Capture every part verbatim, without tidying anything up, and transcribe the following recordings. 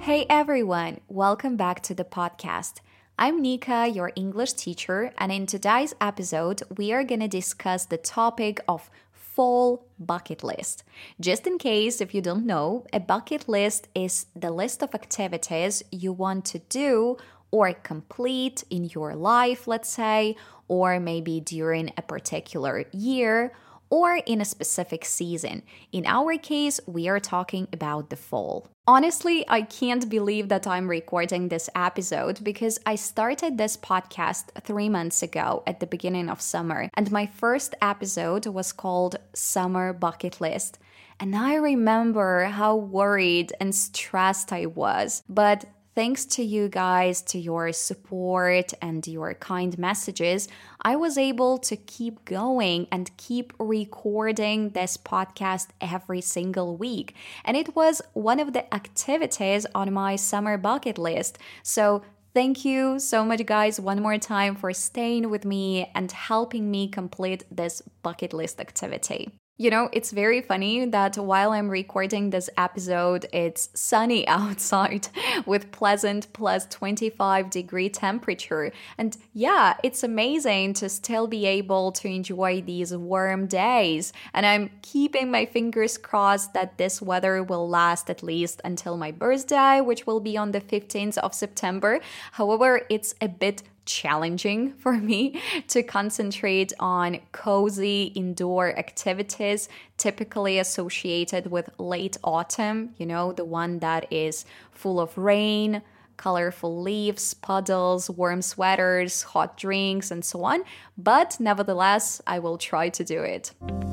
Hey everyone, welcome back to the podcast. I'm Nika, your English teacher, and in today's episode, we are going to discuss the topic of fall bucket list. Just in case if you don't know, a bucket list is the list of activities you want to do or complete in your life, let's say, or maybe during a particular year or in a specific season. In our case, we are talking about the fall. Honestly, I can't believe that I'm recording this episode because I started this podcast three months ago at the beginning of summer, and my first episode was called Summer Bucket List. And I remember how worried and stressed I was, but thanks to you guys, to your support and your kind messages, I was able to keep going and keep recording this podcast every single week. And it was one of the activities on my summer bucket list. So thank you so much, guys, one more time for staying with me and helping me complete this bucket list activity. You know, it's very funny that while I'm recording this episode, it's sunny outside with pleasant plus twenty-five degree temperature. And yeah, it's amazing to still be able to enjoy these warm days. And I'm keeping my fingers crossed that this weather will last at least until my birthday, which will be on the fifteenth of September. However, it's a bit challenging for me to concentrate on cozy indoor activities typically associated with late autumn, you know, the one that is full of rain, colorful leaves, puddles, warm sweaters, hot drinks, and so on. But nevertheless, I will try to do it.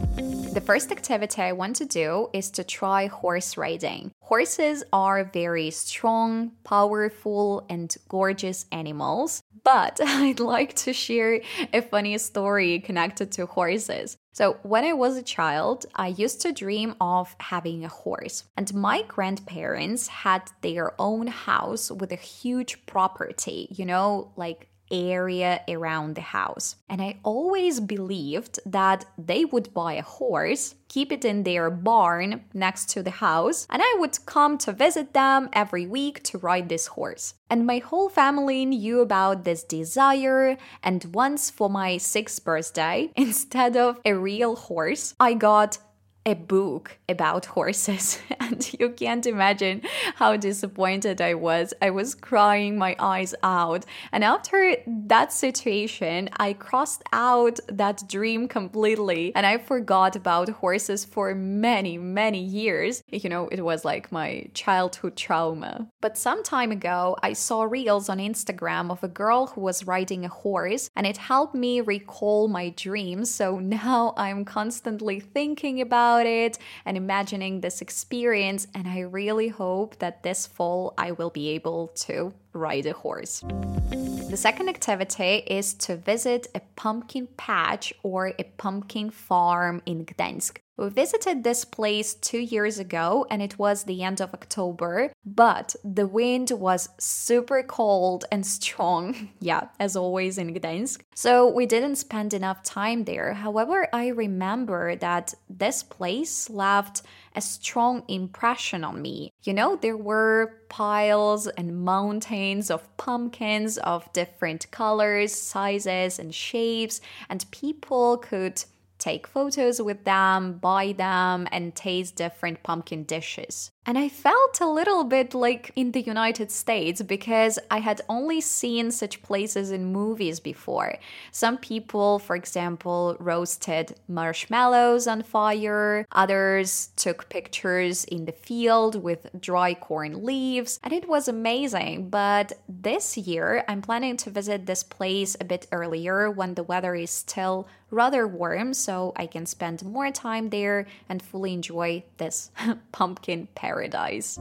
The first activity I want to do is to try horse riding. Horses are very strong, powerful, and gorgeous animals, but I'd like to share a funny story connected to horses. So when I was a child, I used to dream of having a horse, and my grandparents had their own house with a huge property, you know, like area around the house. And I always believed that they would buy a horse, keep it in their barn next to the house, and I would come to visit them every week to ride this horse. And my whole family knew about this desire, and once for my sixth birthday, instead of a real horse, I got a book about horses. And you can't imagine how disappointed I was. I was crying my eyes out. And after that situation, I crossed out that dream completely. And I forgot about horses for many, many years. You know, it was like my childhood trauma. But some time ago, I saw reels on Instagram of a girl who was riding a horse, and it helped me recall my dreams. So now I'm constantly thinking about it and imagining this experience, and I really hope that this fall I will be able to ride a horse. The second activity is to visit a pumpkin patch or a pumpkin farm in Gdańsk. We visited this place two years ago and it was the end of October, but the wind was super cold and strong, yeah, as always in Gdańsk. So we didn't spend enough time there. However, I remember that this place left a strong impression on me. You know, there were piles and mountains of pumpkins of different colors, sizes, and shapes, and people could take photos with them, buy them, and taste different pumpkin dishes. And I felt a little bit like in the United States because I had only seen such places in movies before. Some people, for example, roasted marshmallows on fire. Others took pictures in the field with dry corn leaves. And it was amazing. But this year, I'm planning to visit this place a bit earlier when the weather is still rather warm, so I can spend more time there and fully enjoy this pumpkin paradise.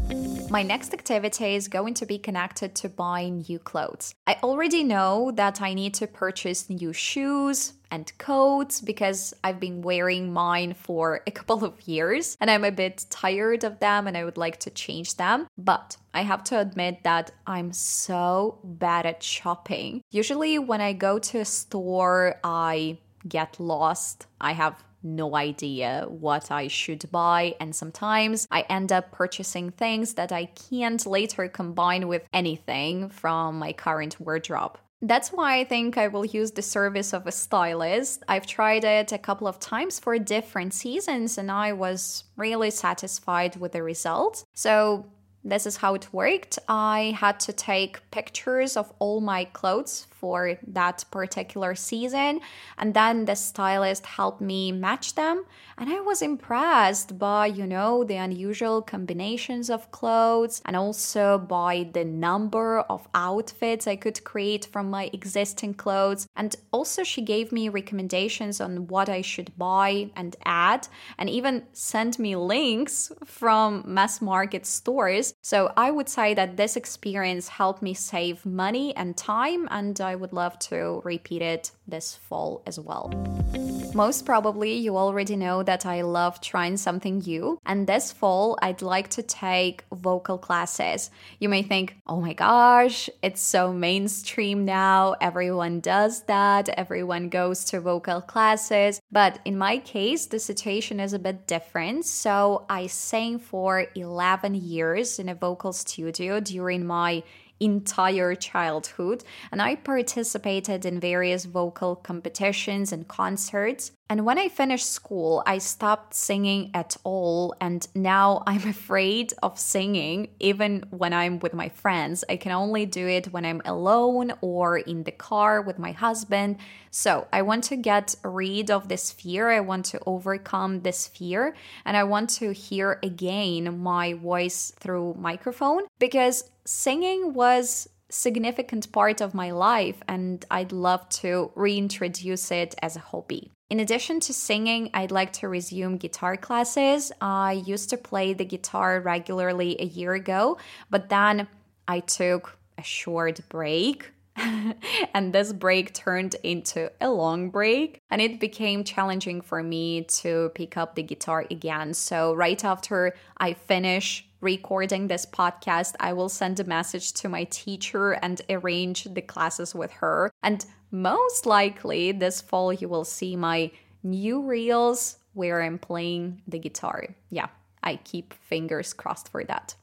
My next activity is going to be connected to buying new clothes. I already know that I need to purchase new shoes and coats because I've been wearing mine for a couple of years and I'm a bit tired of them and I would like to change them. But I have to admit that I'm so bad at shopping. Usually when I go to a store, I get lost. I have no idea what I should buy, and sometimes I end up purchasing things that I can't later combine with anything from my current wardrobe. That's why I think I will use the service of a stylist. I've tried it a couple of times for different seasons and I was really satisfied with the results. So this is how it worked. I had to take pictures of all my clothes for that particular season, and then the stylist helped me match them. And I was impressed by, you know, the unusual combinations of clothes and also by the number of outfits I could create from my existing clothes. And also she gave me recommendations on what I should buy and add, and even sent me links from mass market stores. So I would say that this experience helped me save money and time, and I would love to repeat it this fall as well. Most probably you already know that I love trying something new, and this fall I'd like to take vocal classes. You may think, oh my gosh, it's so mainstream now, everyone does that, everyone goes to vocal classes, but in my case the situation is a bit different. So I sang for eleven years in a vocal studio during my entire childhood, and I participated in various vocal competitions and concerts. And when I finished school, I stopped singing at all, and now I'm afraid of singing even when I'm with my friends. I can only do it when I'm alone or in the car with my husband. So I want to get rid of this fear. I want to overcome this fear, and I want to hear again my voice through microphone, because singing was significant part of my life and I'd love to reintroduce it as a hobby. In addition to singing, I'd like to resume guitar classes. I used to play the guitar regularly a year ago, but then I took a short break. And this break turned into a long break, and it became challenging for me to pick up the guitar again. So right after I finish recording this podcast, I will send a message to my teacher and arrange the classes with her. And most likely this fall you will see my new reels where I'm playing the guitar. Yeah, I keep fingers crossed for that.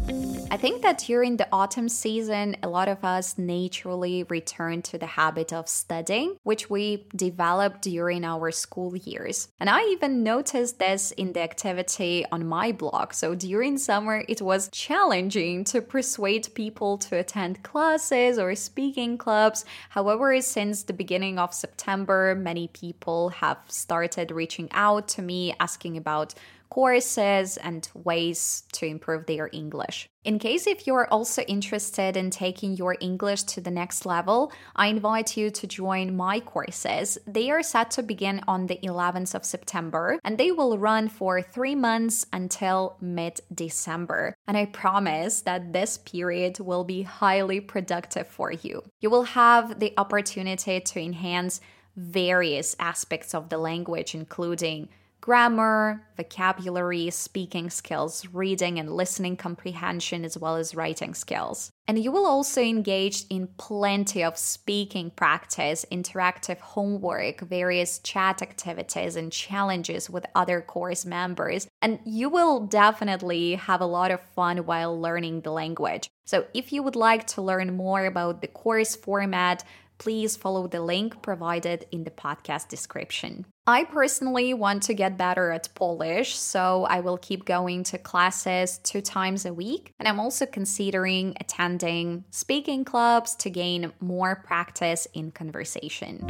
I think that during the autumn season, a lot of us naturally return to the habit of studying, which we developed during our school years. And I even noticed this in the activity on my blog. So during summer, it was challenging to persuade people to attend classes or speaking clubs. However, since the beginning of September, many people have started reaching out to me asking about courses and ways to improve their English. In case if you're also interested in taking your English to the next level, I invite you to join my courses. They are set to begin on the eleventh of September, and they will run for three months until mid-December. And I promise that this period will be highly productive for you. You will have the opportunity to enhance various aspects of the language, including grammar, vocabulary, speaking skills, reading and listening comprehension, as well as writing skills. And you will also engage in plenty of speaking practice, interactive homework, various chat activities and challenges with other course members. And you will definitely have a lot of fun while learning the language. So if you would like to learn more about the course format, please follow the link provided in the podcast description. I personally want to get better at Polish, so I will keep going to classes two times a week. And I'm also considering attending speaking clubs to gain more practice in conversation.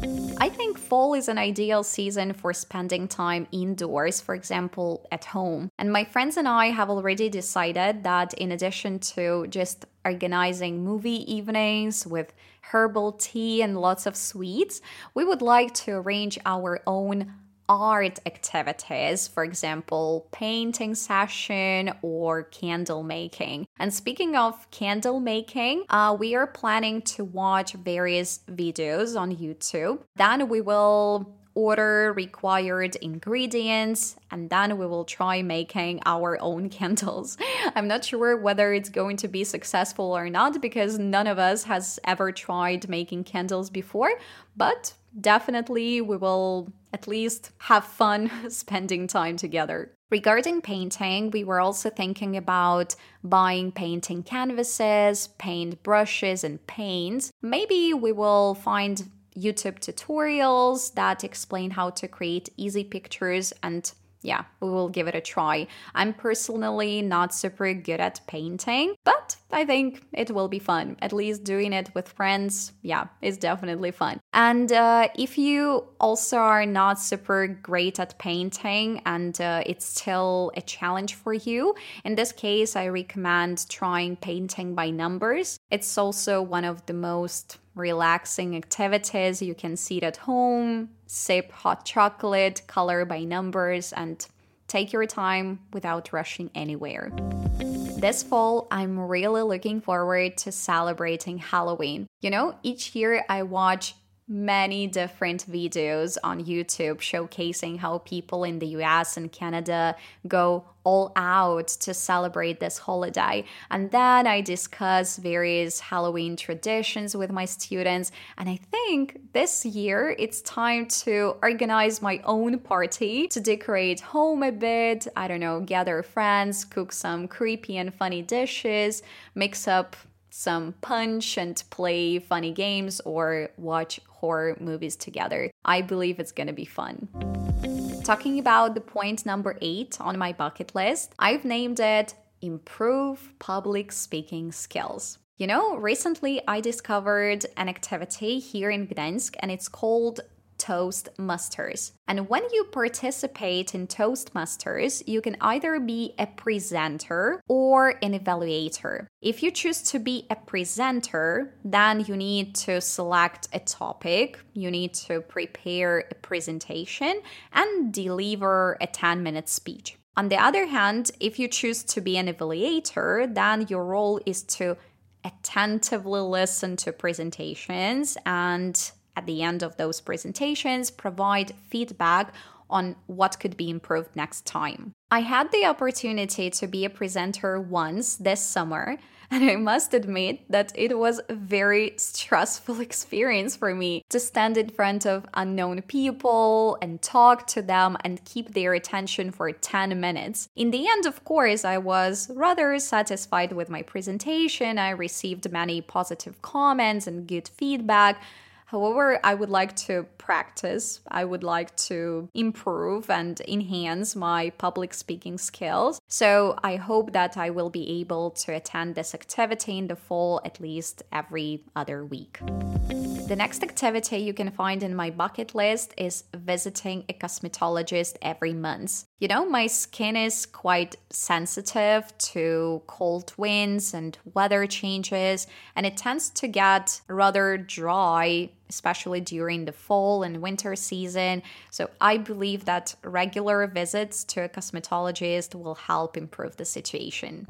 I think fall is an ideal season for spending time indoors, for example, at home. And my friends and I have already decided that in addition to just organizing movie evenings with herbal tea and lots of sweets, we would like to arrange our own art activities, for example, painting session or candle making. And speaking of candle making, uh, we are planning to watch various videos on YouTube. Then we will order required ingredients, and then we will try making our own candles. I'm not sure whether it's going to be successful or not because none of us has ever tried making candles before, but definitely we will at least have fun spending time together. Regarding painting, we were also thinking about buying painting canvases, paint brushes, and paints. Maybe we will find YouTube tutorials that explain how to create easy pictures, and yeah, we will give it a try. I'm personally not super good at painting, but I think it will be fun. At least doing it with friends, yeah, is definitely fun. And uh, if you also are not super great at painting and uh, it's still a challenge for you, in this case, I recommend trying painting by numbers. It's also one of the most relaxing activities. You can sit at home, sip hot chocolate, color by numbers, and take your time without rushing anywhere. This fall, I'm really looking forward to celebrating Halloween. You know, each year I watch many different videos on YouTube showcasing how people in the U S and Canada go all out to celebrate this holiday. And then I discuss various Halloween traditions with my students. And I think this year it's time to organize my own party to decorate home a bit. I don't know, gather friends, cook some creepy and funny dishes, mix up some punch and play funny games or watch horror movies together. I believe it's gonna be fun. Talking about the point number eight on my bucket list, I've named it Improve Public Speaking Skills. You know, recently I discovered an activity here in Gdańsk and it's called Toastmasters. And when you participate in Toastmasters, you can either be a presenter or an evaluator. If you choose to be a presenter, then you need to select a topic, you need to prepare a presentation, and deliver a ten-minute speech. On the other hand, if you choose to be an evaluator, then your role is to attentively listen to presentations and at the end of those presentations, provide feedback on what could be improved next time. I had the opportunity to be a presenter once this summer, and I must admit that it was a very stressful experience for me to stand in front of unknown people and talk to them and keep their attention for ten minutes. In the end, of course, I was rather satisfied with my presentation. I received many positive comments and good feedback. However, I would like to practice, I would like to improve and enhance my public speaking skills. So I hope that I will be able to attend this activity in the fall at least every other week. The next activity you can find in my bucket list is visiting a cosmetologist every month. You know, my skin is quite sensitive to cold winds and weather changes, and it tends to get rather dry, especially during the fall and winter season. So I believe that regular visits to a cosmetologist will help improve the situation.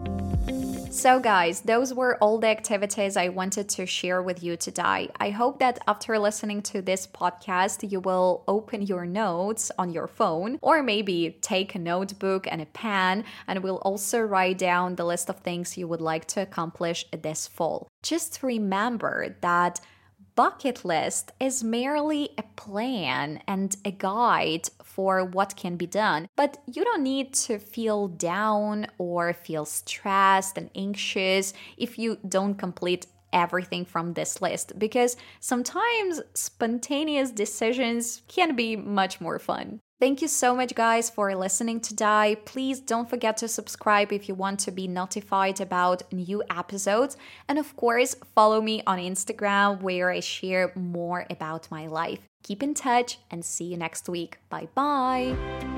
So guys, those were all the activities I wanted to share with you today. I hope that after listening to this podcast, you will open your notes on your phone or maybe take a notebook and a pen and will also write down the list of things you would like to accomplish this fall. Just remember that bucket list is merely a plan and a guide for what can be done, but you don't need to feel down or feel stressed and anxious if you don't complete everything from this list, because sometimes spontaneous decisions can be much more fun. Thank you so much, guys, for listening today. Please don't forget to subscribe if you want to be notified about new episodes. And of course, follow me on Instagram where I share more about my life. Keep in touch and see you next week. Bye bye.